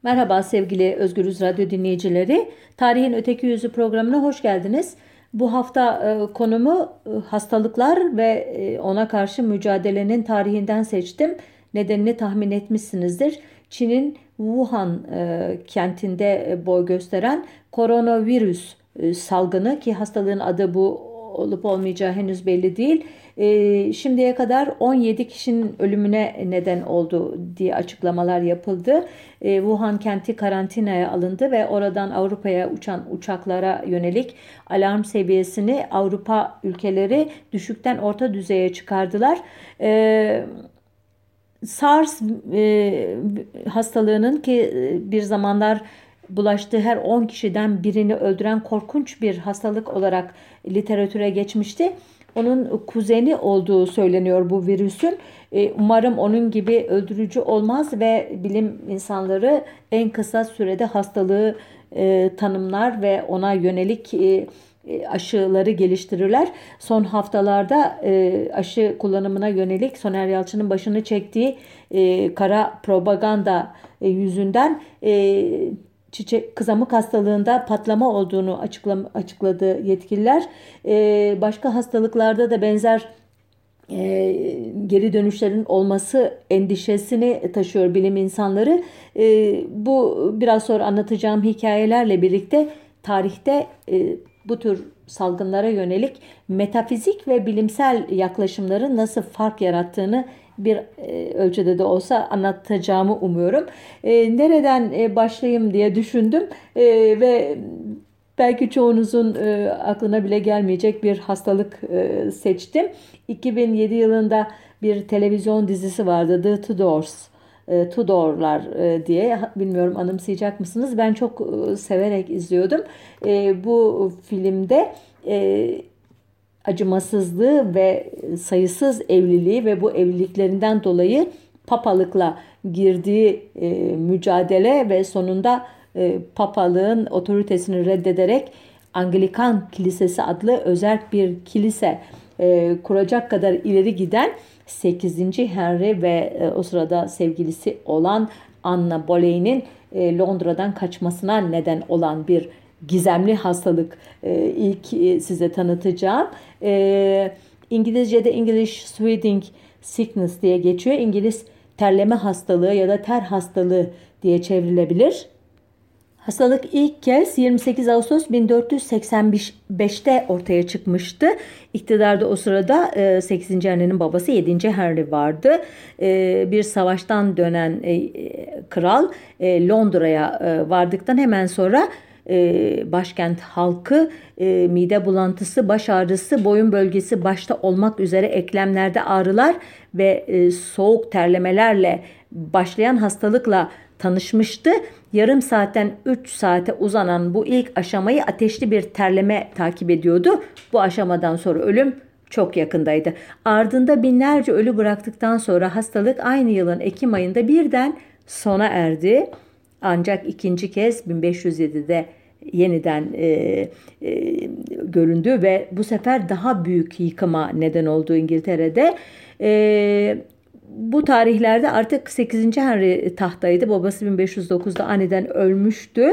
Merhaba sevgili Özgürüz Radyo dinleyicileri. Tarihin Öteki Yüzü programına hoş geldiniz. Bu hafta konumu hastalıklar ve ona karşı mücadelenin tarihinden seçtim. Nedenini tahmin etmişsinizdir. Çin'in Wuhan kentinde boy gösteren koronavirüs salgını, ki hastalığın adı bu olup olmayacağı henüz belli değil. Şimdiye kadar 17 kişinin ölümüne neden oldu diye açıklamalar yapıldı. Wuhan kenti karantinaya alındı ve oradan Avrupa'ya uçan uçaklara yönelik alarm seviyesini Avrupa ülkeleri düşükten orta düzeye çıkardılar. SARS hastalığının, ki bir zamanlar bulaştığı her 10 kişiden birini öldüren korkunç bir hastalık olarak literatüre geçmişti. Onun kuzeni olduğu söyleniyor bu virüsün. Umarım onun gibi öldürücü olmaz ve bilim insanları en kısa sürede hastalığı tanımlar ve ona yönelik aşıları geliştirirler. Son haftalarda aşı kullanımına yönelik Soner Yalçın'ın başını çektiği kara propaganda yüzünden kızamık hastalığında patlama olduğunu açıkladı yetkililer. Başka hastalıklarda da benzer geri dönüşlerin olması endişesini taşıyor bilim insanları. Bu biraz sonra anlatacağım hikayelerle birlikte tarihte bu tür salgınlara yönelik metafizik ve bilimsel yaklaşımların nasıl fark yarattığını bir ölçüde de olsa anlatacağımı umuyorum. Nereden başlayayım diye düşündüm ve belki çoğunuzun aklına bile gelmeyecek bir hastalık seçtim. 2007 yılında bir televizyon dizisi vardı, The Tudors. Tudorlar diye, bilmiyorum anımsayacak mısınız? Ben çok severek izliyordum. Bu filmde acımasızlığı ve sayısız evliliği ve bu evliliklerinden dolayı papalıkla girdiği mücadele ve sonunda papalığın otoritesini reddederek Anglikan Kilisesi adlı özerk bir kilise kuracak kadar ileri giden 8. Henry ve o sırada sevgilisi olan Anna Boleyn'in Londra'dan kaçmasına neden olan bir gizemli hastalık ilk size tanıtacağım. İngilizce'de English Sweating Sickness diye geçiyor. İngiliz terleme hastalığı ya da ter hastalığı diye çevrilebilir. Hastalık ilk kez 28 Ağustos 1485'te ortaya çıkmıştı. İktidarda o sırada 8. Henry'nin babası 7. Henry vardı. Bir savaştan dönen kral Londra'ya vardıktan hemen sonra başkent halkı mide bulantısı, baş ağrısı, boyun bölgesi başta olmak üzere eklemlerde ağrılar ve soğuk terlemelerle başlayan hastalıkla tanışmıştı. Yarım saatten 3 saate uzanan bu ilk aşamayı ateşli bir terleme takip ediyordu. Bu aşamadan sonra ölüm çok yakındaydı. Ardında binlerce ölü bıraktıktan sonra hastalık aynı yılın Ekim ayında birden sona erdi. Ancak ikinci kez 1507'de yeniden göründü ve bu sefer daha büyük yıkıma neden oldu İngiltere'de. Bu tarihlerde artık 8. Henry tahtaydı. Babası 1509'da aniden ölmüştü.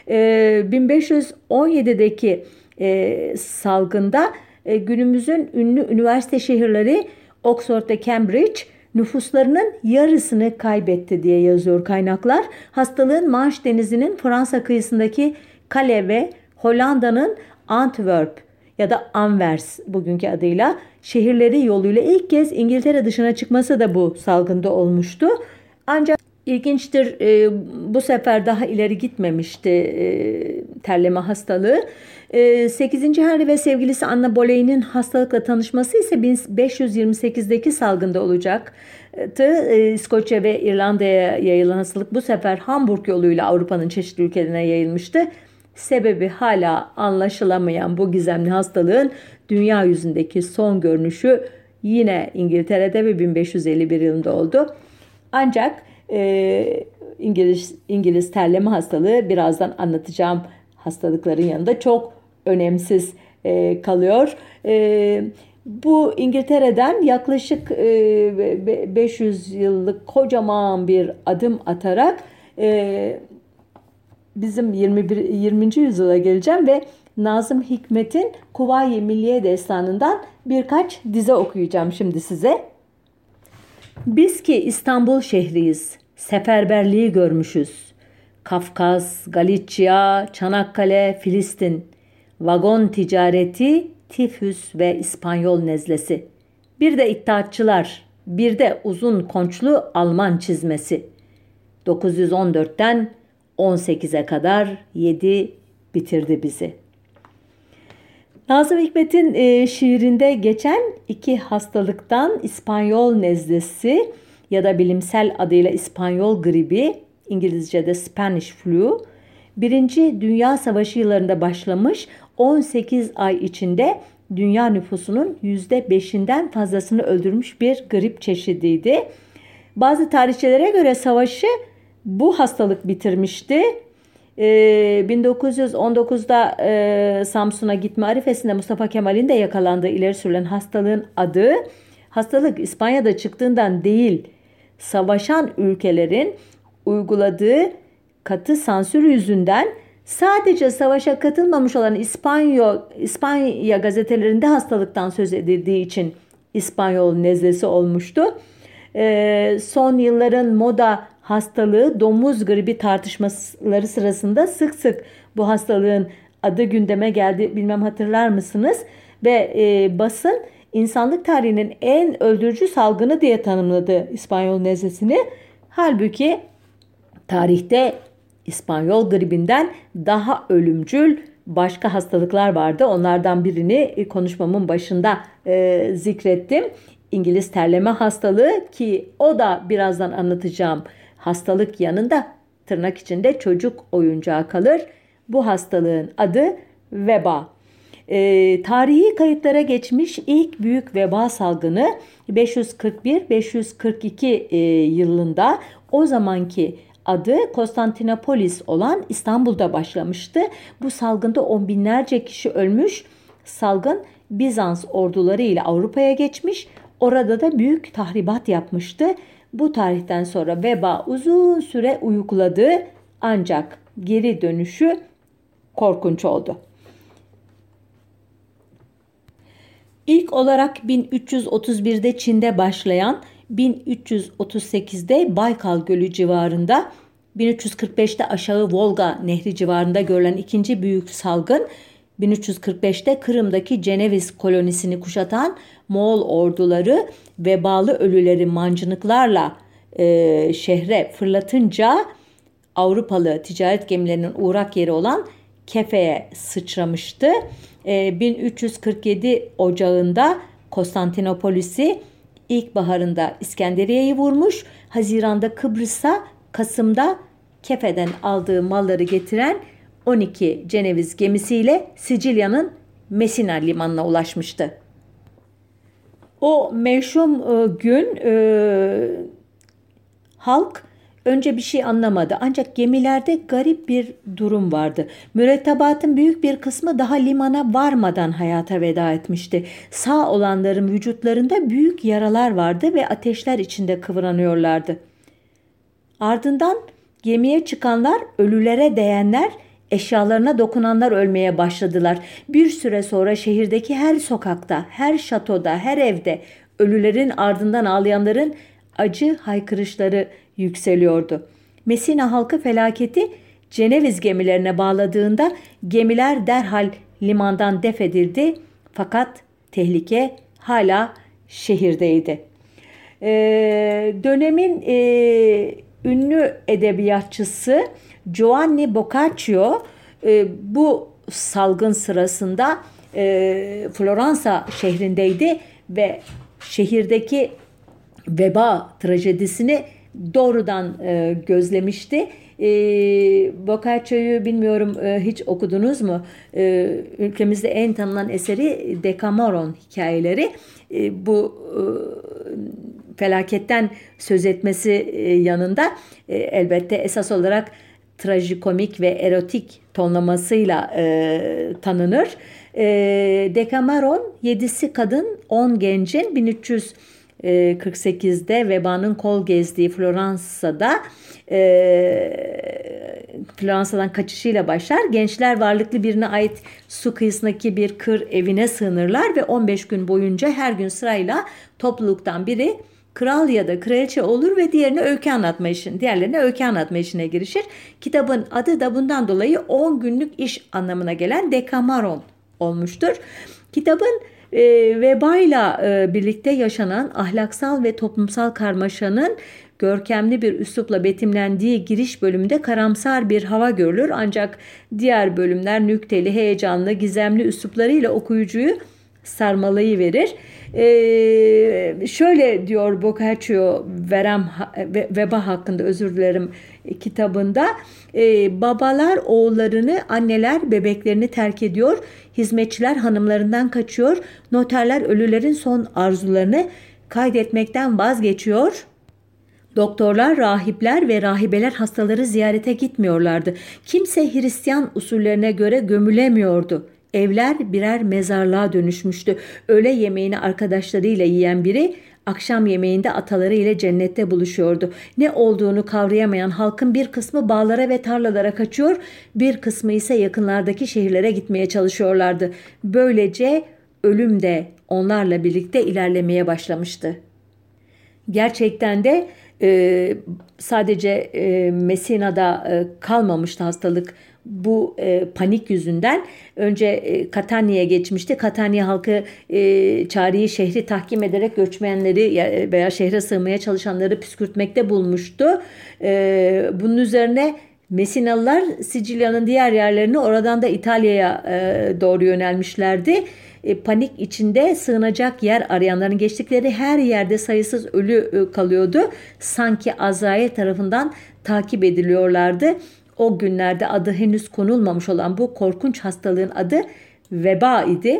1517'deki salgında günümüzün ünlü üniversite şehirleri Oxford ve Cambridge nüfuslarının yarısını kaybetti diye yazıyor kaynaklar. Hastalığın Manş Denizi'nin Fransa kıyısındaki Calais ve Hollanda'nın Antwerp ya da Anvers bugünkü adıyla şehirleri yoluyla ilk kez İngiltere dışına çıkması da bu salgında olmuştu. Ancak ilginçtir, bu sefer daha ileri gitmemişti terleme hastalığı. 8. Henry ve sevgilisi Anna Boleyn'in hastalıkla tanışması ise 1528'deki salgında olacaktı. İskoçya ve İrlanda'ya yayılan hastalık bu sefer Hamburg yoluyla Avrupa'nın çeşitli ülkelerine yayılmıştı. Sebebi hala anlaşılamayan bu gizemli hastalığın dünya yüzündeki son görünüşü yine İngiltere'de ve 1551 yılında oldu. Ancak İngiliz terleme hastalığı birazdan anlatacağım hastalıkların yanında çok önemsiz kalıyor. Bu İngiltere'den yaklaşık 500 yıllık kocaman bir adım atarak bizim 20. yüzyıla geleceğim ve Nazım Hikmet'in Kuvayi Milliye Destanı'ndan birkaç dize okuyacağım şimdi size. Biz ki İstanbul şehriyiz, seferberliği görmüşüz. Kafkas, Galicia, Çanakkale, Filistin, vagon ticareti, tifüs ve İspanyol nezlesi. Bir de iddiatçılar, bir de uzun konçlu Alman çizmesi. 914'ten 18'e kadar yedi bitirdi bizi. Nazım Hikmet'in şiirinde geçen iki hastalıktan İspanyol nezlesi ya da bilimsel adıyla İspanyol gribi, İngilizce'de Spanish flu, Birinci Dünya Savaşı yıllarında başlamış, 18 ay içinde dünya nüfusunun %5'inden fazlasını öldürmüş bir grip çeşidiydi. Bazı tarihçilere göre savaşı bu hastalık bitirmişti. 1919'da Samsun'a gitme arifesinde Mustafa Kemal'in de yakalandığı ileri sürülen hastalığın adı, hastalık İspanya'da çıktığından değil, savaşan ülkelerin uyguladığı katı sansür yüzünden sadece savaşa katılmamış olan İspanya gazetelerinde hastalıktan söz edildiği için İspanyol nezlesi olmuştu. Son yılların moda hastalığı domuz gribi tartışmaları sırasında sık sık bu hastalığın adı gündeme geldi. Bilmem hatırlar mısınız? Ve basın insanlık tarihinin en öldürücü salgını diye tanımladı İspanyol nezlesini. Halbuki tarihte İspanyol gribinden daha ölümcül başka hastalıklar vardı. Onlardan birini konuşmamın başında zikrettim. İngiliz terleme hastalığı, ki o da birazdan anlatacağım hastalık yanında tırnak içinde çocuk oyuncağı kalır. Bu hastalığın adı veba. Tarihi kayıtlara geçmiş ilk büyük veba salgını 541-542 yılında, o zamanki adı Konstantinopolis olan İstanbul'da başlamıştı. Bu salgında on binlerce kişi ölmüş. Salgın Bizans orduları ile Avrupa'ya geçmiş. Orada da büyük tahribat yapmıştı. Bu tarihten sonra veba uzun süre uyukladı, ancak geri dönüşü korkunç oldu. İlk olarak 1331'de Çin'de başlayan, 1338'de Baykal Gölü civarında, 1345'te aşağı Volga Nehri civarında görülen ikinci büyük salgın, 1345'te Kırım'daki Ceneviz kolonisini kuşatan Moğol orduları vebalı ölüleri mancınıklarla şehre fırlatınca Avrupalı ticaret gemilerinin uğrak yeri olan Kefe'ye sıçramıştı. 1347 Ocağı'nda Konstantinopolis'i, ilkbaharında İskenderiye'yi vurmuş, Haziran'da Kıbrıs'a, Kasım'da Kefe'den aldığı malları getiren 12 Ceneviz gemisiyle Sicilya'nın Messina limanına ulaşmıştı. O meşhum gün halk önce bir şey anlamadı. Ancak gemilerde garip bir durum vardı. Mürettebatın büyük bir kısmı daha limana varmadan hayata veda etmişti. Sağ olanların vücutlarında büyük yaralar vardı ve ateşler içinde kıvranıyorlardı. Ardından gemiye çıkanlar, ölülere değenler, eşyalarına dokunanlar ölmeye başladılar. Bir süre sonra şehirdeki her sokakta, her şatoda, her evde ölülerin ardından ağlayanların acı haykırışları yükseliyordu. Messina halkı felaketi Ceneviz gemilerine bağladığında gemiler derhal limandan def edildi, fakat tehlike hala şehirdeydi. Dönemin ünlü edebiyatçısı Giovanni Boccaccio bu salgın sırasında Floransa şehrindeydi ve şehirdeki veba trajedisini doğrudan gözlemişti. Boccaccio'yu bilmiyorum, hiç okudunuz mu? Ülkemizde en tanınan eseri Decameron hikayeleri. Bu felaketten söz etmesi yanında elbette esas olarak trajikomik ve erotik tonlamasıyla tanınır. Decameron 7'si kadın 10 gencin 1348'de vebanın kol gezdiği Floransa'da Floransa'dan kaçışıyla başlar. Gençler varlıklı birine ait su kıyısındaki bir kır evine sığınırlar ve 15 gün boyunca her gün sırayla topluluktan biri kral ya da kraliçe olur ve diğerlerine öykü anlatma işine girişir. Kitabın adı da bundan dolayı 10 günlük iş anlamına gelen Dekameron olmuştur. Kitabın vebayla birlikte yaşanan ahlaksal ve toplumsal karmaşanın görkemli bir üslupla betimlendiği giriş bölümünde karamsar bir hava görülür. Ancak diğer bölümler nükteli, heyecanlı, gizemli üsluplarıyla okuyucuyu sarmalayıverir. Şöyle diyor Boccaccio veba hakkında kitabında. Babalar oğullarını, anneler bebeklerini terk ediyor. Hizmetçiler hanımlarından kaçıyor. Noterler ölülerin son arzularını kaydetmekten vazgeçiyor. Doktorlar, rahipler ve rahibeler hastaları ziyarete gitmiyorlardı. Kimse Hristiyan usullerine göre gömülemiyordu. Evler birer mezarlığa dönüşmüştü. Öğle yemeğini arkadaşlarıyla yiyen biri akşam yemeğinde ataları ile cennette buluşuyordu. Ne olduğunu kavrayamayan halkın bir kısmı bağlara ve tarlalara kaçıyor, bir kısmı ise yakınlardaki şehirlere gitmeye çalışıyorlardı. Böylece ölüm de onlarla birlikte ilerlemeye başlamıştı. Gerçekten de sadece Messina'da kalmamıştı hastalık. Bu panik yüzünden önce Catania'ya geçmişti. Catania halkı çareyi şehri tahkim ederek göçmenleri veya şehre sığmaya çalışanları püskürtmekte bulmuştu. Bunun üzerine Messinalılar Sicilya'nın diğer yerlerini, oradan da İtalya'ya doğru yönelmişlerdi. Panik içinde sığınacak yer arayanların geçtikleri her yerde sayısız ölü kalıyordu. Sanki Azrail tarafından takip ediliyorlardı. O günlerde adı henüz konulmamış olan bu korkunç hastalığın adı veba idi.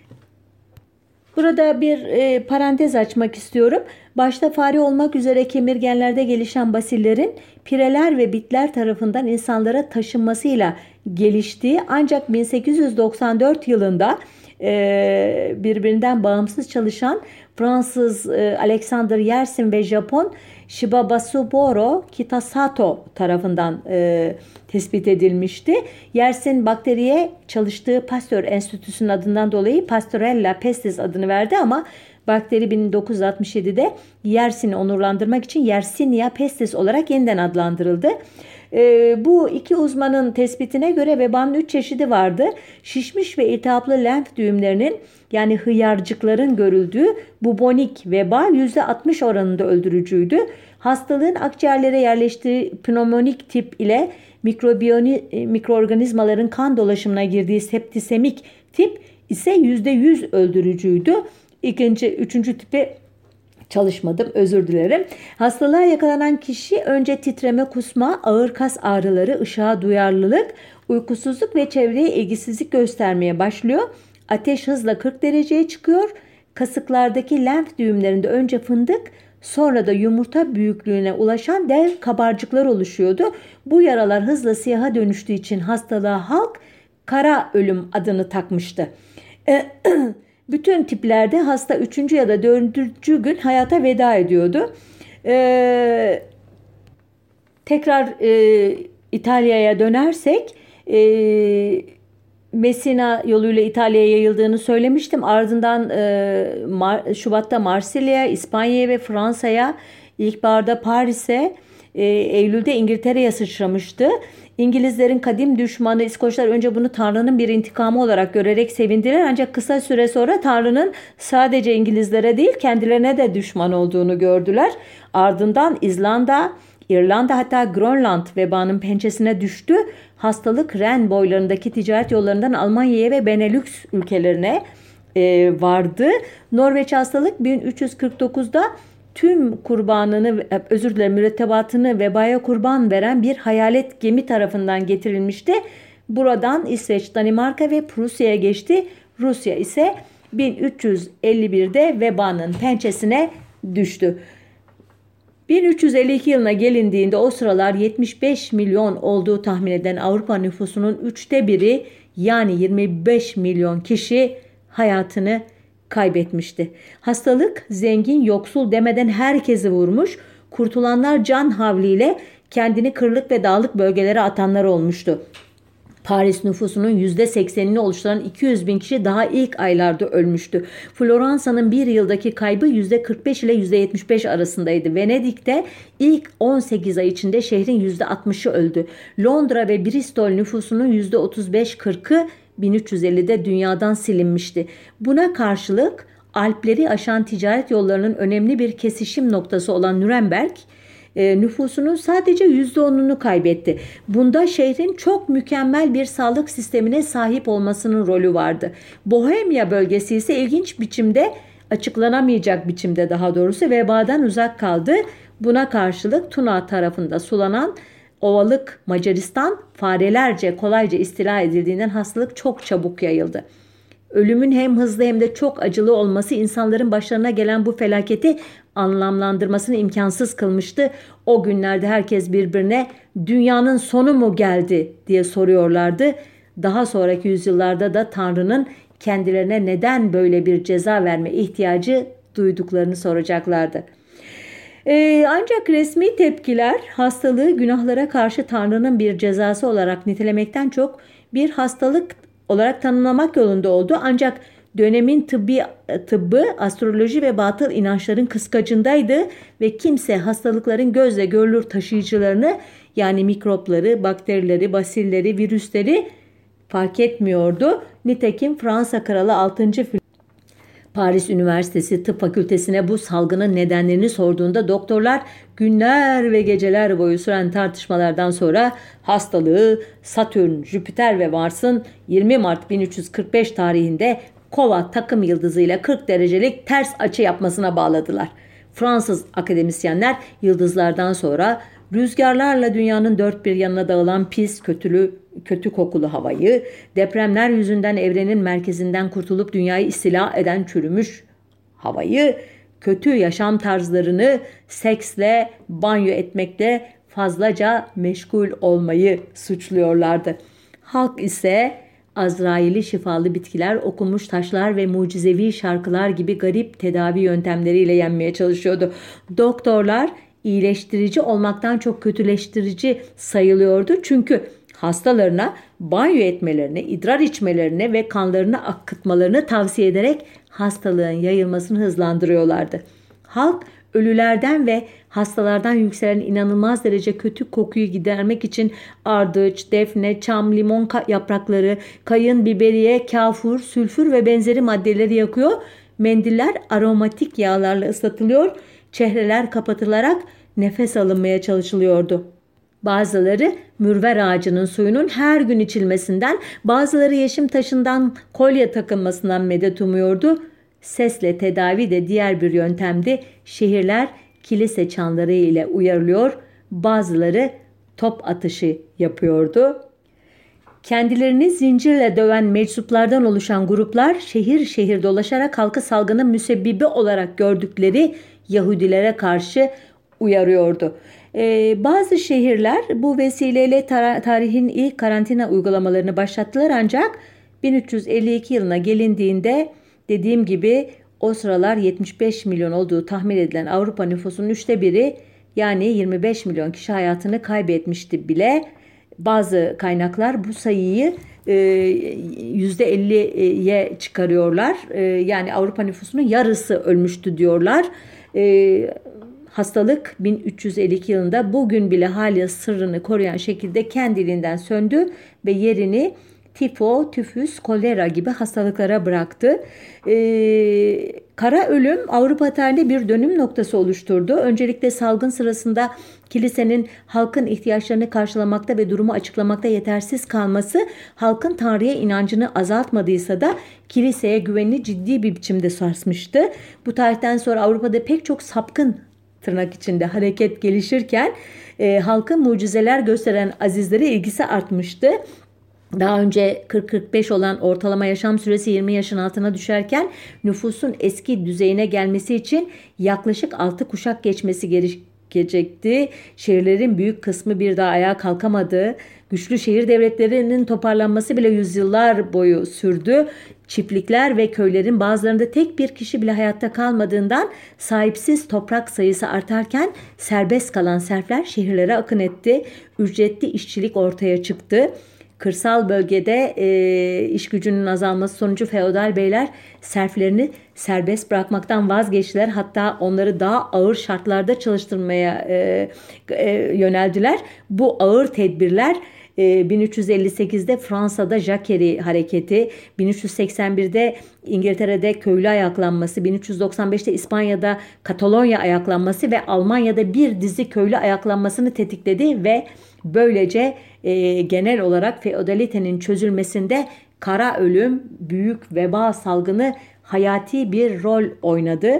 Burada bir parantez açmak istiyorum. Başta fare olmak üzere kemirgenlerde gelişen basillerin pireler ve bitler tarafından insanlara taşınmasıyla geliştiği, ancak 1894 yılında birbirinden bağımsız çalışan Fransız Alexander Yersin ve Japon Shibabasuboro Kitasato tarafından tespit edilmişti. Yersin bakteriye çalıştığı Pasteur Enstitüsü'nün adından dolayı Pasteurella pestis adını verdi ama bakteri 1967'de Yersin'i onurlandırmak için Yersinia pestis olarak yeniden adlandırıldı. Bu iki uzmanın tespitine göre vebanın 3 çeşidi vardı. Şişmiş ve iltihaplı lenf düğümlerinin, yani hıyarcıkların görüldüğü bubonik veba %60 oranında öldürücüydü. Hastalığın akciğerlere yerleştiği pneumonik tip ile mikroorganizmaların kan dolaşımına girdiği septisemik tip ise %100 öldürücüydü. Üçüncü tipi çalışmadım, özür dilerim. Hastalığa yakalanan kişi önce titreme, kusma, ağır kas ağrıları, ışığa duyarlılık, uykusuzluk ve çevreye ilgisizlik göstermeye başlıyor. Ateş hızla 40 dereceye çıkıyor. Kasıklardaki lenf düğümlerinde önce fındık, sonra da yumurta büyüklüğüne ulaşan dev kabarcıklar oluşuyordu. Bu yaralar hızla siyaha dönüştüğü için hastalığa halk kara ölüm adını takmıştı. Bütün tiplerde hasta 3. ya da 4. gün hayata veda ediyordu. Tekrar İtalya'ya dönersek, Messina yoluyla İtalya'ya yayıldığını söylemiştim. Ardından Şubat'ta Marsilya'ya, İspanya'ya ve Fransa'ya, ilkbaharda Paris'e, Eylül'de İngiltere'ye sıçramıştı. İngilizlerin kadim düşmanı İskoçlar önce bunu Tanrı'nın bir intikamı olarak görerek sevindiler. Ancak kısa süre sonra Tanrı'nın sadece İngilizlere değil kendilerine de düşman olduğunu gördüler. Ardından İzlanda, İrlanda, hatta Grönland vebanın pençesine düştü. Hastalık Ren boylarındaki ticaret yollarından Almanya'ya ve Benelux ülkelerine vardı. Norveç hastalık 1349'da tüm mürettebatını vebaya kurban veren bir hayalet gemi tarafından getirilmişti. Buradan İsveç, Danimarka ve Prusya'ya geçti. Rusya ise 1351'de vebanın pençesine düştü. 1352 yılına gelindiğinde o sıralar 75 milyon olduğu tahmin edilen Avrupa nüfusunun 1/3 yani 25 milyon kişi hayatını kaybetmişti. Hastalık zengin yoksul demeden herkesi vurmuş. Kurtulanlar can havliyle kendini kırlık ve dağlık bölgelere atanlar olmuştu. Paris nüfusunun %80'ini oluşturan 200 bin kişi daha ilk aylarda ölmüştü. Floransa'nın bir yıldaki kaybı %45 ile %75 arasındaydı. Venedik'te ilk 18 ay içinde şehrin %60'ı öldü. Londra ve Bristol nüfusunun %35-40'ı 1350'de dünyadan silinmişti. Buna karşılık Alpleri aşan ticaret yollarının önemli bir kesişim noktası olan Nürnberg, nüfusunun sadece %10'unu kaybetti. Bunda şehrin çok mükemmel bir sağlık sistemine sahip olmasının rolü vardı. Bohemya bölgesi ise ilginç biçimde, açıklanamayacak biçimde daha doğrusu vebadan uzak kaldı. Buna karşılık Tuna tarafında sulanan ovalık Macaristan farelerce kolayca istila edildiğinden hastalık çok çabuk yayıldı. Ölümün hem hızlı hem de çok acılı olması insanların başlarına gelen bu felaketi anlamlandırmasını imkansız kılmıştı. O günlerde herkes birbirine dünyanın sonu mu geldi diye soruyorlardı. Daha sonraki yüzyıllarda da Tanrı'nın kendilerine neden böyle bir ceza verme ihtiyacı duyduklarını soracaklardı. Ancak resmi tepkiler hastalığı günahlara karşı Tanrı'nın bir cezası olarak nitelemekten çok bir hastalık olarak tanımlamak yolunda oldu. Ancak dönemin tıbbı astroloji ve batıl inançların kıskacındaydı ve kimse hastalıkların gözle görülür taşıyıcılarını, yani mikropları, bakterileri, basilleri, virüsleri fark etmiyordu. Nitekim Fransa Kralı 6. Paris Üniversitesi Tıp Fakültesine bu salgının nedenlerini sorduğunda doktorlar günler ve geceler boyu süren tartışmalardan sonra hastalığı Satürn, Jüpiter ve Mars'ın 20 Mart 1345 tarihinde Kova takım yıldızıyla 40 derecelik ters açı yapmasına bağladılar. Fransız akademisyenler yıldızlardan sonra rüzgarlarla dünyanın dört bir yanına dağılan pis, kötü kokulu havayı, depremler yüzünden evrenin merkezinden kurtulup dünyayı istila eden çürümüş havayı, kötü yaşam tarzlarını, seksle, banyo etmekle fazlaca meşgul olmayı suçluyorlardı. Halk ise Azrail'i şifalı bitkiler, okunmuş taşlar ve mucizevi şarkılar gibi garip tedavi yöntemleriyle yenmeye çalışıyordu. Doktorlar iyileştirici olmaktan çok kötüleştirici sayılıyordu. Çünkü hastalarına banyo etmelerini, idrar içmelerini ve kanlarını akıtmalarını tavsiye ederek hastalığın yayılmasını hızlandırıyorlardı. Halk ölülerden ve hastalardan yükselen inanılmaz derece kötü kokuyu gidermek için ardıç, defne, çam, limon yaprakları, kayın, biberiye, kafur, sülfür ve benzeri maddeleri yakıyor. Mendiller aromatik yağlarla ıslatılıyor. Çehreler kapatılarak nefes alınmaya çalışılıyordu. Bazıları mürver ağacının suyunun her gün içilmesinden, bazıları yeşim taşından kolye takılmasından medet umuyordu. Sesle tedavi de diğer bir yöntemdi. Şehirler kilise çanları ile uyarılıyor, bazıları top atışı yapıyordu. Kendilerini zincirle döven meczuplardan oluşan gruplar şehir şehir dolaşarak halkı salgının müsebbibi olarak gördükleri Yahudilere karşı uyarıyordu. Bazı şehirler bu vesileyle tarihin ilk karantina uygulamalarını başlattılar, ancak 1352 yılına gelindiğinde dediğim gibi o sıralar 75 milyon olduğu tahmin edilen Avrupa nüfusunun 1/3, yani 25 milyon kişi hayatını kaybetmişti bile. Bazı kaynaklar bu sayıyı %50'ye çıkarıyorlar. Yani Avrupa nüfusunun yarısı ölmüştü diyorlar. Hastalık 1352 yılında bugün bile hala sırrını koruyan şekilde kendiliğinden söndü ve yerini tifo, tifüs, kolera gibi hastalıklara bıraktı. Kara ölüm Avrupa tarihinde bir dönüm noktası oluşturdu. Öncelikle salgın sırasında kilisenin halkın ihtiyaçlarını karşılamakta ve durumu açıklamakta yetersiz kalması halkın Tanrı'ya inancını azaltmadıysa da kiliseye güvenini ciddi bir biçimde sarsmıştı. Bu tarihten sonra Avrupa'da pek çok sapkın tırnak içinde hareket gelişirken halkın mucizeler gösteren azizlere ilgisi artmıştı. Daha önce 40-45 olan ortalama yaşam süresi 20 yaşın altına düşerken nüfusun eski düzeyine gelmesi için yaklaşık 6 kuşak geçmesi gerekecekti. Şehirlerin büyük kısmı bir daha ayağa kalkamadı. Güçlü şehir devletlerinin toparlanması bile yüzyıllar boyu sürdü. çiftlikler ve köylerin bazılarında tek bir kişi bile hayatta kalmadığından sahipsiz toprak sayısı artarken serbest kalan serfler şehirlere akın etti. Ücretli işçilik ortaya çıktı. Kırsal bölgede iş gücünün azalması sonucu feodal beyler serflerini serbest bırakmaktan vazgeçtiler. Hatta onları daha ağır şartlarda çalıştırmaya yöneldiler. Bu ağır tedbirler 1358'de Fransa'da Jacquerie hareketi, 1381'de İngiltere'de köylü ayaklanması, 1395'te İspanya'da Katalonya ayaklanması ve Almanya'da bir dizi köylü ayaklanmasını tetikledi ve böylece genel olarak feodalitenin çözülmesinde kara ölüm, büyük veba salgını hayati bir rol oynadı.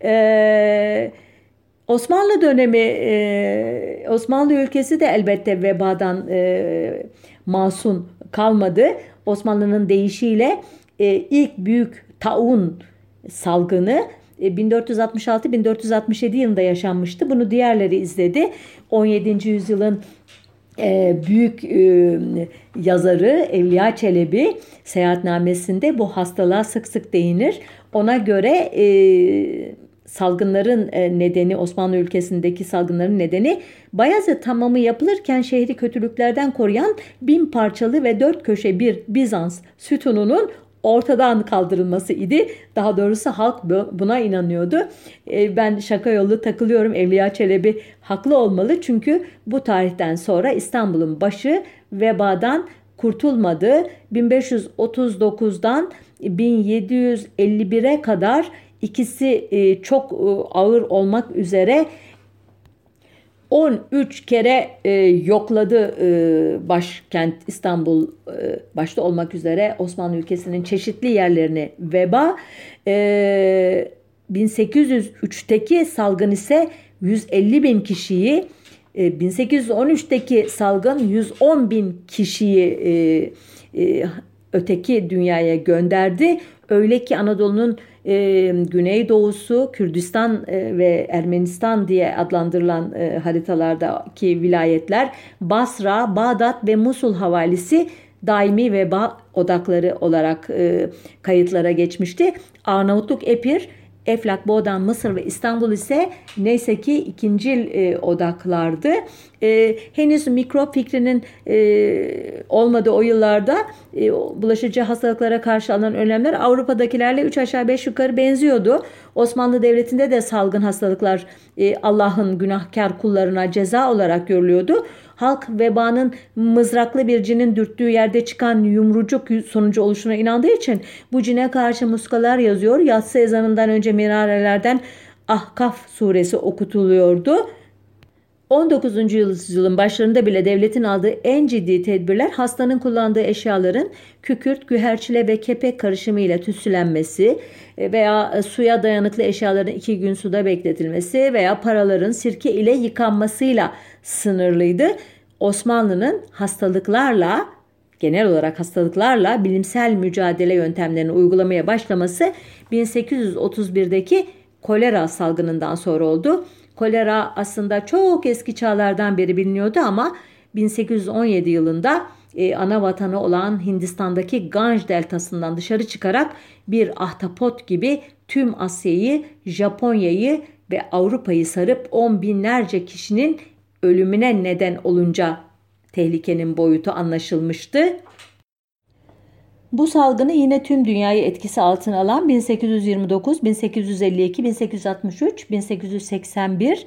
Osmanlı dönemi, Osmanlı ülkesi de elbette vebadan masum kalmadı. Osmanlı'nın deyişiyle ilk büyük taun salgını 1466-1467 yılında yaşanmıştı. Bunu diğerleri izledi. 17. yüzyılın büyük yazarı Evliya Çelebi seyahatnamesinde bu hastalığa sık sık değinir. Ona göre salgınların nedeni, Osmanlı ülkesindeki salgınların nedeni Bayezid Hamamı yapılırken şehri kötülüklerden koruyan 1000 parçalı ve 4 köşe bir Bizans sütununun ortadan kaldırılması idi. Daha doğrusu halk buna inanıyordu. Ben şaka yolu takılıyorum. Evliya Çelebi haklı olmalı. Çünkü bu tarihten sonra İstanbul'un başı vebadan kurtulmadı. 1539'dan 1751'e kadar ikisi çok ağır olmak üzere 13 kere yokladı başkent İstanbul başta olmak üzere Osmanlı ülkesinin çeşitli yerlerini veba. 1803'teki salgın ise 150 bin kişiyi, 1813'teki salgın 110 bin kişiyi öteki dünyaya gönderdi. Öyle ki Anadolu'nun güneydoğusu, Kürdistan ve Ermenistan diye adlandırılan haritalardaki vilayetler Basra, Bağdat ve Musul havalisi daimi veba odakları olarak kayıtlara geçmişti. Arnavutluk, Epir, Eflak, Boğdan, Mısır ve İstanbul ise neyse ki ikincil odaklardı. Henüz mikrop fikrinin olmadığı o yıllarda bulaşıcı hastalıklara karşı alınan önlemler Avrupa'dakilerle 3 aşağı 5 yukarı benziyordu. Osmanlı Devleti'nde de salgın hastalıklar Allah'ın günahkar kullarına ceza olarak görülüyordu. Halk vebanın mızraklı bir cinin dürttüğü yerde çıkan yumrucuk sonucu oluşuna inandığı için bu cine karşı muskalar yazıyor. Yatsı ezanından önce minarelerden Ahkaf suresi okutuluyordu. 19. yüzyılın başlarında bile devletin aldığı en ciddi tedbirler hastanın kullandığı eşyaların kükürt, güherçile ve kepek karışımı ile tütsülenmesi veya suya dayanıklı eşyaların 2 gün suda bekletilmesi veya paraların sirke ile yıkanmasıyla sınırlıydı. Osmanlı'nın hastalıklarla, genel olarak hastalıklarla bilimsel mücadele yöntemlerini uygulamaya başlaması 1831'deki kolera salgınından sonra oldu. Kolera aslında çok eski çağlardan beri biliniyordu ama 1817 yılında ana vatanı olan Hindistan'daki Ganj deltasından dışarı çıkarak bir ahtapot gibi tüm Asya'yı, Japonya'yı ve Avrupa'yı sarıp 10 binlerce kişinin ölümüne neden olunca tehlikenin boyutu anlaşılmıştı. Bu salgını yine tüm dünyayı etkisi altına alan 1829, 1852, 1863, 1881,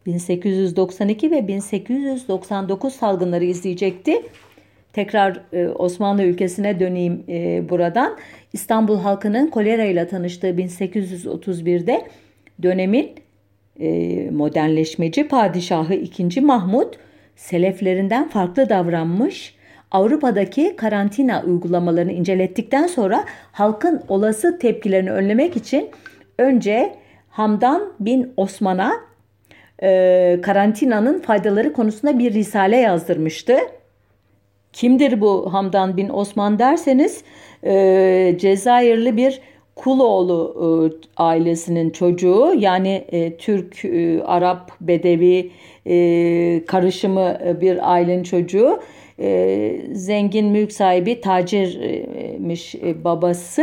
1892 ve 1899 salgınları izleyecekti. Tekrar Osmanlı ülkesine döneyim buradan. İstanbul halkının kolera ile tanıştığı 1831'de dönemin modernleşmeci padişahı 2. Mahmut seleflerinden farklı davranmış. Avrupa'daki karantina uygulamalarını incelettikten sonra halkın olası tepkilerini önlemek için önce Hamdan bin Osman'a karantinanın faydaları konusunda bir risale yazdırmıştı. Kimdir bu Hamdan bin Osman derseniz Cezayirli bir Kuloğlu ailesinin çocuğu, yani Türk, Arap, Bedevi karışımı bir ailenin çocuğu. Zengin mülk sahibi tacirmiş babası.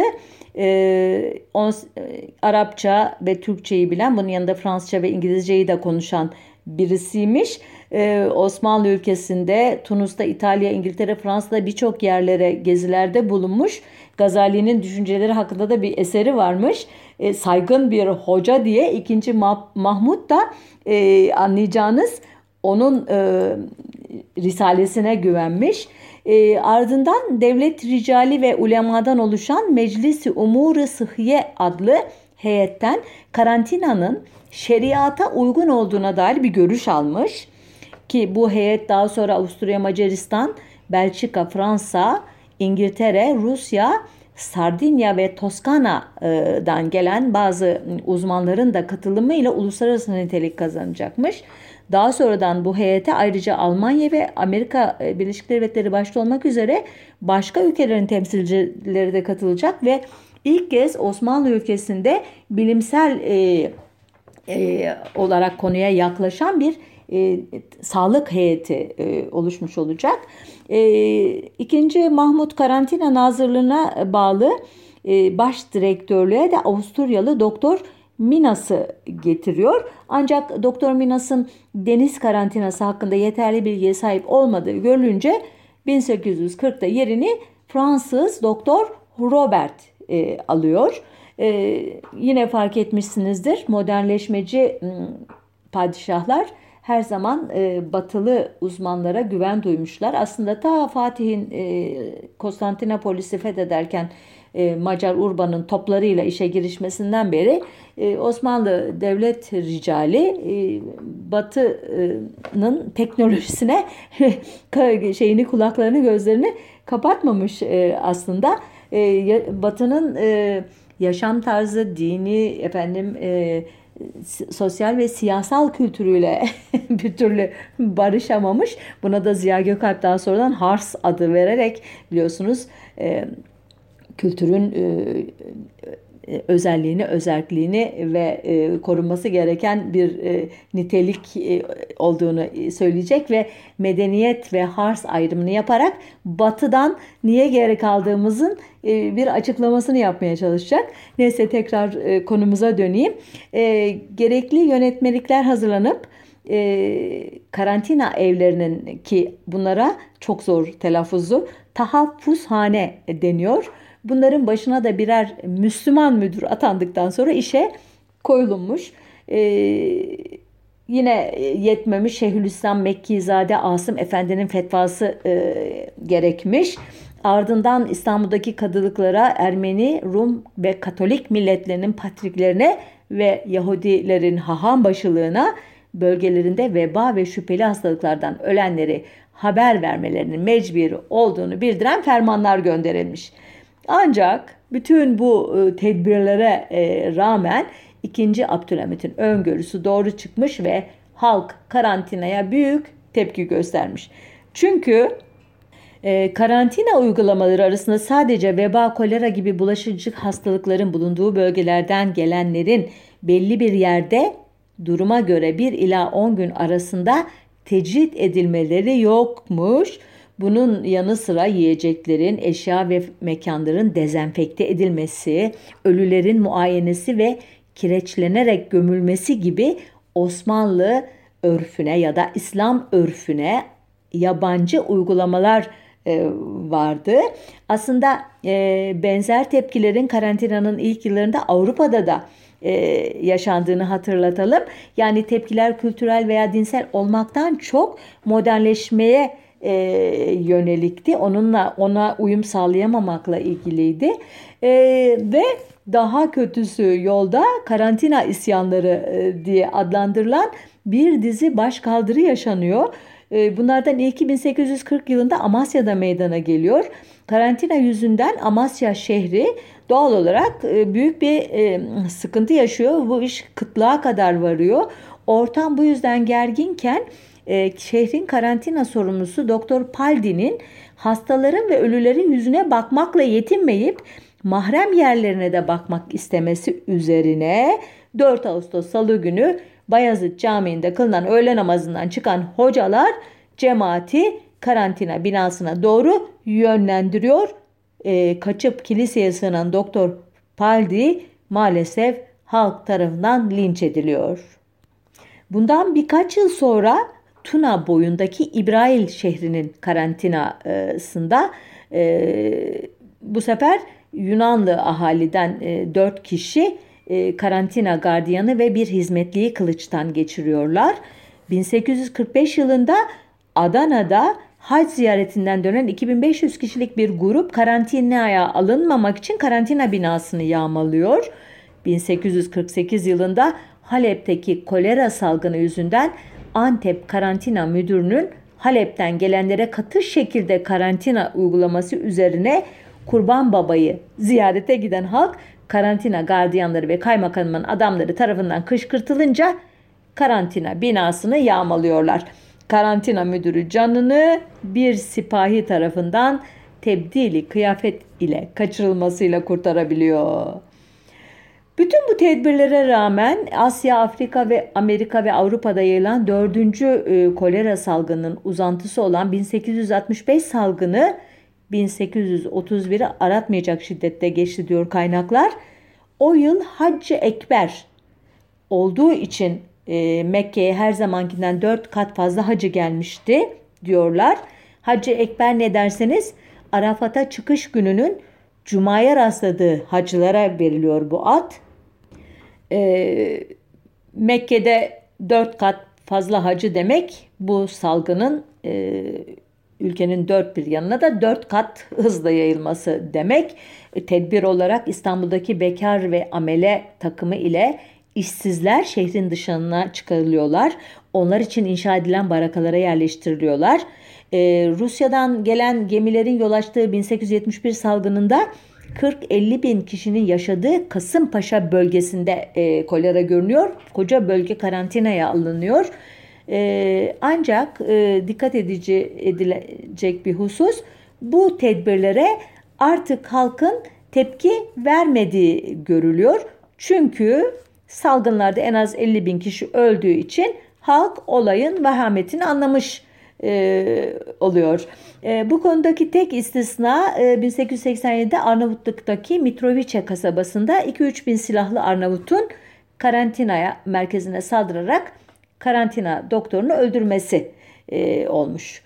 Arapça ve Türkçeyi bilen, bunun yanında Fransızca ve İngilizceyi de konuşan birisiymiş. Osmanlı ülkesinde, Tunus'ta, İtalya, İngiltere, Fransa'da birçok yerlere gezilerde bulunmuş. Gazali'nin düşünceleri hakkında da bir eseri varmış. Saygın bir hoca diye. İkinci Mahmud da anlayacağınız onun risalesine güvenmiş. Ardından devlet ricali ve ulemadan oluşan Meclis-i Umur-ı Sıhhiye adlı heyetten karantinanın şeriata uygun olduğuna dair bir görüş almış. Ki bu heyet daha sonra Avusturya, Macaristan, Belçika, Fransa, İngiltere, Rusya, Sardinya ve Toskana'dan gelen bazı uzmanların da katılımıyla uluslararası nitelik kazanacakmış. Daha sonradan bu heyete ayrıca Almanya ve Amerika Birleşik Devletleri başta olmak üzere başka ülkelerin temsilcileri de katılacak ve ilk kez Osmanlı ülkesinde bilimsel olarak konuya yaklaşan bir sağlık heyeti oluşmuş olacak. İkinci Mahmud karantina nazırlığına bağlı baş direktörlüğe de Avusturyalı Doktor Minas'ı getiriyor. Ancak Doktor Minas'ın deniz karantinası hakkında yeterli bilgiye sahip olmadığı görülünce 1840'da yerini Fransız Doktor Robert alıyor. Yine fark etmişsinizdir, modernleşmeci padişahlar her zaman batılı uzmanlara güven duymuşlar. Aslında ta Fatih'in Konstantinopolis'i fethederken Macar Urban'ın toplarıyla işe girişmesinden beri Osmanlı devlet ricali Batı'nın teknolojisine kulaklarını gözlerini kapatmamış aslında. Batı'nın yaşam tarzı, dini, sosyal ve siyasal kültürüyle bir türlü barışamamış. Buna da Ziya Gökalp daha sonradan Hars adı vererek, biliyorsunuz, kültürün özelliğini ve korunması gereken bir nitelik olduğunu söyleyecek ve medeniyet ve Hars ayrımını yaparak Batı'dan niye geri kaldığımızın bir açıklamasını yapmaya çalışacak. Neyse, tekrar konumuza döneyim. Gerekli yönetmelikler hazırlanıp karantina evlerinin, ki bunlara çok zor telaffuzlu, tahaffuzhane deniyor. Bunların başına da birer Müslüman müdür atandıktan sonra işe koyulmuş. Yine yetmemiş, Şeyhülislam Mekkizade Asım Efendi'nin fetvası gerekmiş. Ardından İstanbul'daki kadılıklara Ermeni, Rum ve Katolik milletlerinin patriklerine ve Yahudilerin haham başılığına bölgelerinde veba ve şüpheli hastalıklardan ölenleri haber vermelerinin mecburi olduğunu bildiren fermanlar gönderilmiş. Ancak bütün bu tedbirlere rağmen 2. Abdülhamit'in öngörüsü doğru çıkmış ve halk karantinaya büyük tepki göstermiş. Çünkü karantina uygulamaları arasında sadece veba, kolera gibi bulaşıcı hastalıkların bulunduğu bölgelerden gelenlerin belli bir yerde duruma göre 1 ila 10 gün arasında tecrit edilmeleri yokmuş. Bunun yanı sıra yiyeceklerin, eşya ve mekanların dezenfekte edilmesi, ölülerin muayenesi ve kireçlenerek gömülmesi gibi Osmanlı örfüne ya da İslam örfüne yabancı uygulamalar vardı. Aslında benzer tepkilerin karantinanın ilk yıllarında Avrupa'da da yaşandığını hatırlatalım. Yani tepkiler kültürel veya dinsel olmaktan çok modernleşmeye yönelikti. Ona uyum sağlayamamakla ilgiliydi. Ve daha kötüsü yolda karantina isyanları diye adlandırılan bir dizi başkaldırı yaşanıyor. Bunlardan ilki 1840 yılında Amasya'da meydana geliyor. Karantina yüzünden Amasya şehri doğal olarak büyük bir sıkıntı yaşıyor. Bu iş kıtlığa kadar varıyor. Ortam bu yüzden gerginken şehrin karantina sorumlusu Doktor Paldi'nin hastaların ve ölülerin yüzüne bakmakla yetinmeyip mahrem yerlerine de bakmak istemesi üzerine 4 Ağustos Salı günü Bayezid Camii'nde kılınan öğle namazından çıkan hocalar cemaati karantina binasına doğru yönlendiriyor. Kaçıp kiliseye sığınan Doktor Paldi maalesef halk tarafından linç ediliyor. Bundan birkaç yıl sonra Tuna boyundaki İbrail şehrinin karantinasında bu sefer Yunanlı ahaliden 4 kişi karantina gardiyanı ve bir hizmetliyi kılıçtan geçiriyorlar. 1845 yılında Adana'da hac ziyaretinden dönen 2500 kişilik bir grup karantinaya alınmamak için karantina binasını yağmalıyor. 1848 yılında Halep'teki kolera salgını yüzünden Antep Karantina Müdürü'nün Halep'ten gelenlere katı şekilde karantina uygulaması üzerine Kurban Baba'yı ziyarete giden halk karantina gardiyanları ve kaymakamın adamları tarafından kışkırtılınca karantina binasını yağmalıyorlar. Karantina müdürü canını bir sipahi tarafından tebdili kıyafet ile kaçırılmasıyla kurtarabiliyor. Bütün bu tedbirlere rağmen Asya, Afrika ve Amerika ve Avrupa'da yayılan 4. kolera salgınının uzantısı olan 1865 salgını 1831'i aratmayacak şiddette geçti diyor kaynaklar. O yıl Hac-ı Ekber olduğu için Mekke'ye her zamankinden 4 kat fazla hacı gelmişti diyorlar. Hac-ı Ekber ne derseniz Arafat'a çıkış gününün Cuma'ya rastladığı hacılara veriliyor bu ad. Mekke'de 4 kat fazla hacı demek bu salgının ülkenin dört bir yanına da 4 kat hızla yayılması demek. Tedbir olarak İstanbul'daki bekar ve amele takımı ile işsizler şehrin dışına çıkarılıyorlar. Onlar için inşa edilen barakalara yerleştiriliyorlar. Rusya'dan gelen gemilerin yol açtığı 1871 salgınında 40-50 bin kişinin yaşadığı Kasımpaşa bölgesinde kolera görünüyor. Koca bölge karantinaya alınıyor. Ancak dikkat edilecek bir husus, bu tedbirlere artık halkın tepki vermediği görülüyor. Çünkü salgınlarda en az 50 bin kişi öldüğü için halk olayın vehametini anlamış oluyor. Bu konudaki tek istisna 1887'de Arnavutluk'taki Mitrovice kasabasında 2-3 bin silahlı Arnavut'un karantinaya merkezine saldırarak karantina doktorunu öldürmesi olmuş.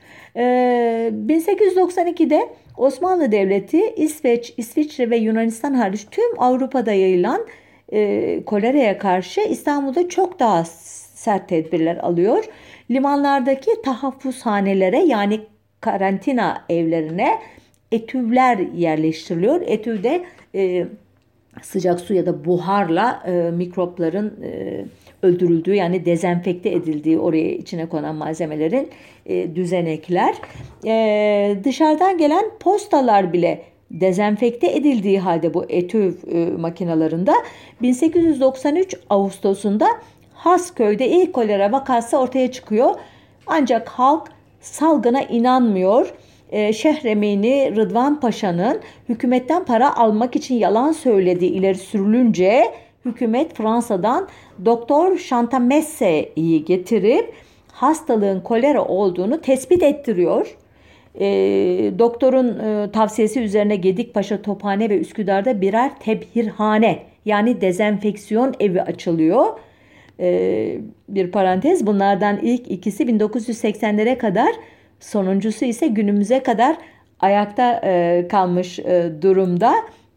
1892'de Osmanlı Devleti İsveç, İsviçre ve Yunanistan hariç tüm Avrupa'da yayılan koleraya karşı İstanbul'da çok daha sert tedbirler alıyor. Limanlardaki tahaffuzhanelere yani karantina evlerine etüvler yerleştiriliyor. Etüvde sıcak su ya da buharla mikropların öldürüldüğü yani dezenfekte edildiği oraya içine konan malzemelerin düzenekler. Dışarıdan gelen postalar bile dezenfekte edildiği halde bu etüv makinalarında 1893 Ağustos'unda Hasköy'de ilk kolera vakası ortaya çıkıyor. Ancak halk salgına inanmıyor. Şehremini Rıdvan Paşa'nın hükümetten para almak için yalan söylediği ileri sürülünce hükümet Fransa'dan Doktor Chantamesse'yi getirip hastalığın kolera olduğunu tespit ettiriyor. Doktorun tavsiyesi üzerine Gedikpaşa, Tophane ve Üsküdar'da birer tebhirhane yani dezenfeksiyon evi açılıyor. Bir parantez, bunlardan ilk ikisi 1980'lere kadar, sonuncusu ise günümüze kadar ayakta kalmış durumda.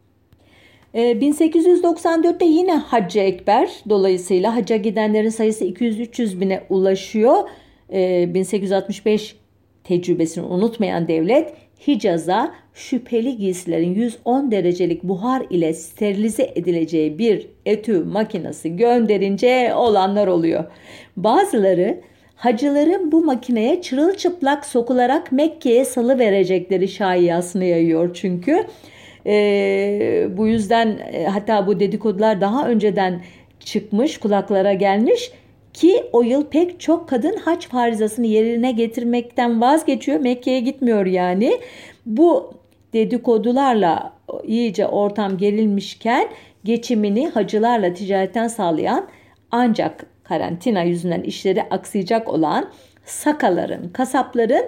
1894'te yine Hac-ı Ekber dolayısıyla hacca gidenlerin sayısı 200-300 bine ulaşıyor. 1865 tecrübesini unutmayan devlet Hicaz'a şüpheli giysilerin 110 derecelik buhar ile sterilize edileceği bir etü makinesi gönderince olanlar oluyor. Bazıları hacıların bu makineye çırılçıplak sokularak Mekke'ye salıverecekleri şayiasını yayıyor çünkü. Bu yüzden hatta bu dedikodular daha önceden çıkmış, kulaklara gelmiş ki o yıl pek çok kadın hac farizasını yerine getirmekten vazgeçiyor. Mekke'ye gitmiyor yani. Bu dedikodularla iyice ortam gerilmişken geçimini hacılarla ticaretten sağlayan ancak karantina yüzünden işleri aksayacak olan sakaların, kasapların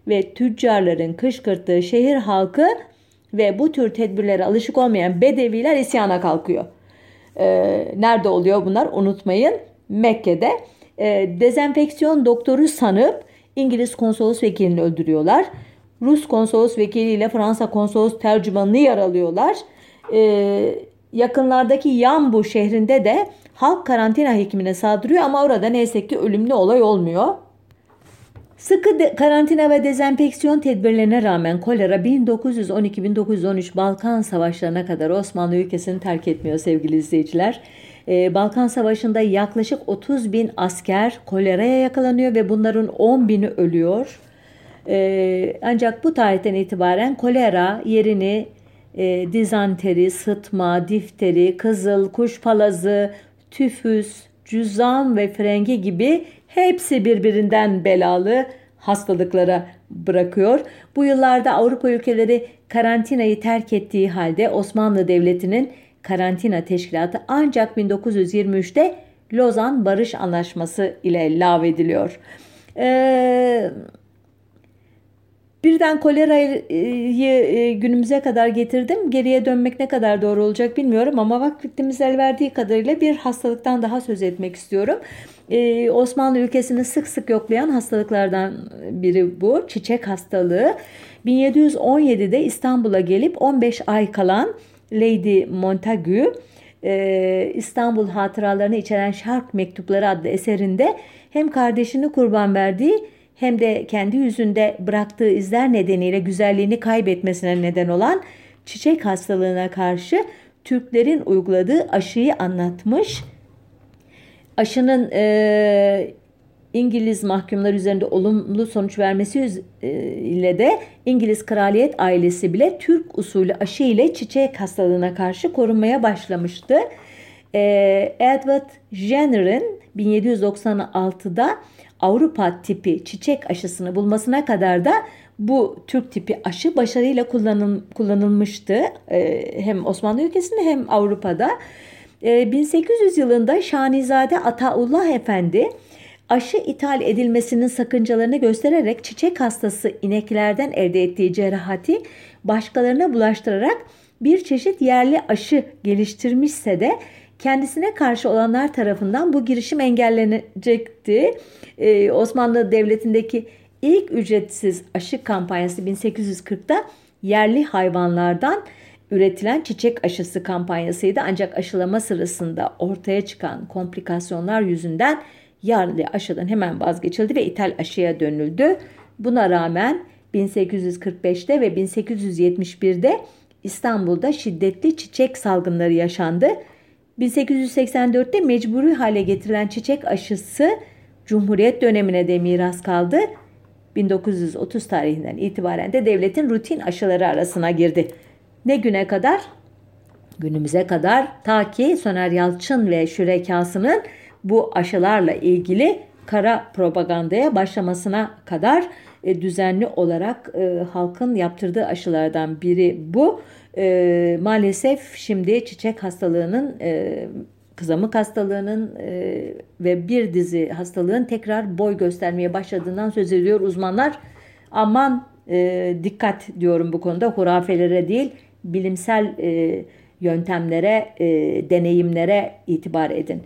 ve tüccarların kışkırttığı şehir halkı ve bu tür tedbirlere alışık olmayan bedeviler isyana kalkıyor. Nerede oluyor bunlar? Unutmayın, Mekke'de. Dezenfeksiyon doktoru sanıp İngiliz konsolos vekilini öldürüyorlar. Rus konsolos vekiliyle Fransa konsolos tercümanını yaralıyorlar. Yakınlardaki Yambu şehrinde de halk karantina hekimine saldırıyor ama orada neyse ki ölümlü olay olmuyor. Sıkı karantina ve dezenfeksiyon tedbirlerine rağmen kolera 1912-1913 Balkan Savaşları'na kadar Osmanlı ülkesini terk etmiyor sevgili izleyiciler. Balkan Savaşı'nda yaklaşık 30 bin asker koleraya yakalanıyor ve bunların 10 bini ölüyor. Ancak bu tarihten itibaren kolera yerini dizanteri, sıtma, difteri, kızıl, kuş palazı, tüfüs, cüzzam ve frengi gibi hepsi birbirinden belalı hastalıklara bırakıyor. Bu yıllarda Avrupa ülkeleri karantinayı terk ettiği halde Osmanlı Devleti'nin karantina teşkilatı ancak 1923'te Lozan Barış Anlaşması ile lağvediliyor. Birden kolerayı günümüze kadar getirdim. Geriye dönmek ne kadar doğru olacak bilmiyorum ama vaktimiz el verdiği kadarıyla bir hastalıktan daha söz etmek istiyorum. Osmanlı ülkesini sık sık yoklayan hastalıklardan biri bu. Çiçek hastalığı. 1717'de İstanbul'a gelip 15 ay kalan Lady Montagu, İstanbul Hatıralarını içeren Şark Mektupları adlı eserinde hem kardeşini kurban verdiği hem de kendi yüzünde bıraktığı izler nedeniyle güzelliğini kaybetmesine neden olan çiçek hastalığına karşı Türklerin uyguladığı aşıyı anlatmış. Aşının İngiliz mahkumlar üzerinde olumlu sonuç vermesi ile de İngiliz kraliyet ailesi bile Türk usulü aşı ile çiçek hastalığına karşı korunmaya başlamıştı. Edward Jenner'ın 1796'da Avrupa tipi çiçek aşısını bulmasına kadar da bu Türk tipi aşı başarıyla kullanılmıştı. Hem Osmanlı ülkesinde hem Avrupa'da. 1800 yılında Şanizade Ataullah Efendi aşı ithal edilmesinin sakıncalarını göstererek çiçek hastası ineklerden elde ettiği cerahati başkalarına bulaştırarak bir çeşit yerli aşı geliştirmişse de kendisine karşı olanlar tarafından bu girişim engellenecekti. Osmanlı Devleti'ndeki ilk ücretsiz aşı kampanyası 1840'da yerli hayvanlardan üretilen çiçek aşısı kampanyasıydı. Ancak aşılama sırasında ortaya çıkan komplikasyonlar yüzünden yerli aşıdan hemen vazgeçildi ve ithal aşıya dönüldü. Buna rağmen 1845'te ve 1871'de İstanbul'da şiddetli çiçek salgınları yaşandı. 1884'te mecburi hale getirilen çiçek aşısı Cumhuriyet dönemine de miras kaldı. 1930 tarihinden itibaren de devletin rutin aşıları arasına girdi. Ne güne kadar? Günümüze kadar, ta ki Soner Yalçın ve şürekasının bu aşılarla ilgili kara propagandaya başlamasına kadar düzenli olarak halkın yaptırdığı aşılardan biri bu. Maalesef şimdi çiçek hastalığının, kızamık hastalığının ve bir dizi hastalığın tekrar boy göstermeye başladığından söz ediyor uzmanlar. Aman dikkat diyorum bu konuda, hurafelere değil, bilimsel yöntemlere, deneyimlere itibar edin.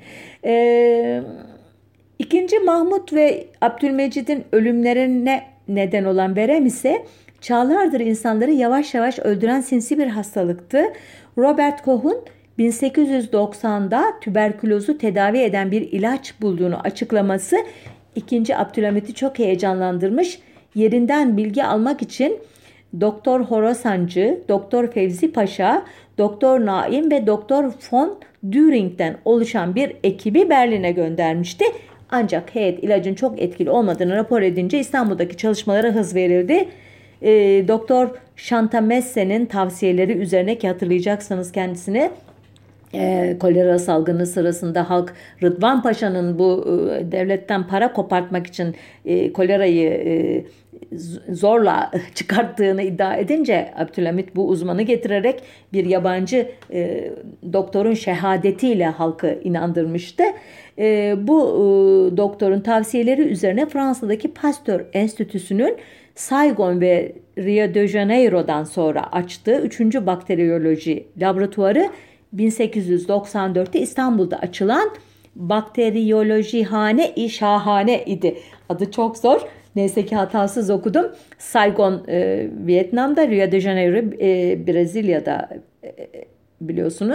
İkinci Mahmut ve Abdülmecid'in ölümlerine neden olan verem ise çağlardır insanları yavaş yavaş öldüren sinsi bir hastalıktı. Robert Koch'un 1890'da tüberkülozu tedavi eden bir ilaç bulduğunu açıklaması 2. Abdülhamit'i çok heyecanlandırmış. Yerinden bilgi almak için Doktor Horasancı, Doktor Fevzi Paşa, Doktor Naim ve Doktor von Düring'den oluşan bir ekibi Berlin'e göndermişti. Ancak heyet ilacın çok etkili olmadığını rapor edince İstanbul'daki çalışmalara hız verildi. Doktor Chantamesse'nin tavsiyeleri üzerine, ki hatırlayacaksınız kendisini, kolera salgını sırasında halk Rıdvan Paşa'nın bu devletten para kopartmak için kolerayı zorla çıkarttığını iddia edince Abdülhamit bu uzmanı getirerek bir yabancı doktorun şehadetiyle halkı inandırmıştı. Bu doktorun tavsiyeleri üzerine Fransa'daki Pasteur Enstitüsü'nün Saigon ve Rio de Janeiro'dan sonra açtığı 3. bakteriyoloji laboratuvarı 1894'te İstanbul'da açılan Bakteriyolojihane-i Şahane idi. Adı çok zor. Neyse ki hatasız okudum. Saigon Vietnam'da, Rio de Janeiro Brezilya'da biliyorsunuz.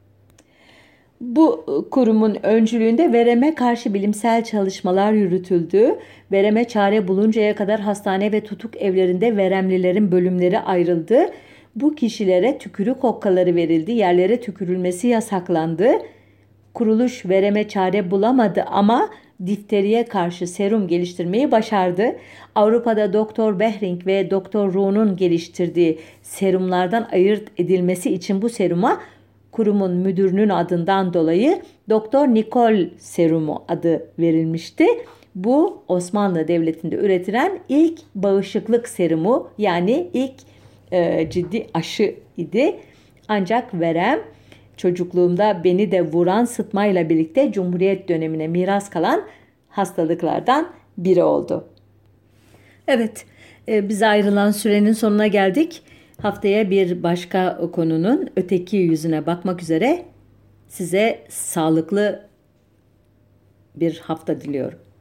Bu kurumun öncülüğünde vereme karşı bilimsel çalışmalar yürütüldü. Vereme çare buluncaya kadar hastane ve tutuk evlerinde veremlilerin bölümleri ayrıldı. Bu kişilere tükürük okkaları verildi. Yerlere tükürülmesi yasaklandı. Kuruluş vereme çare bulamadı ama difteriye karşı serum geliştirmeyi başardı. Avrupa'da Doktor Behring ve Doktor Roon'un geliştirdiği serumlardan ayırt edilmesi için bu seruma kurumun müdürünün adından dolayı Doktor Nikol serumu adı verilmişti. Bu Osmanlı Devleti'nde üretilen ilk bağışıklık serumu, yani ilk ciddi aşı idi. Ancak verem çocukluğumda beni de vuran sıtmayla birlikte Cumhuriyet dönemine miras kalan hastalıklardan biri oldu. Evet, bize ayrılan sürenin sonuna geldik. Haftaya bir başka konunun öteki yüzüne bakmak üzere size sağlıklı bir hafta diliyorum.